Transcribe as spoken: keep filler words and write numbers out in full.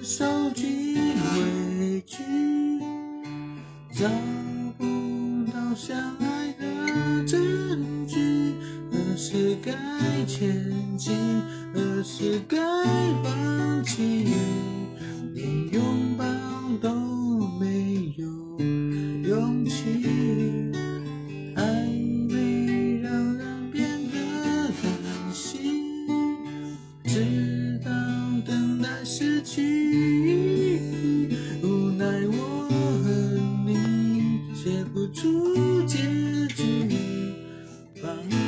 受尽委屈，找不到相爱的证据，何时该前进，何时该放弃，连拥抱都没有勇气，还没让人变得担心，直到等待失去，无奈我和你写不出结局，放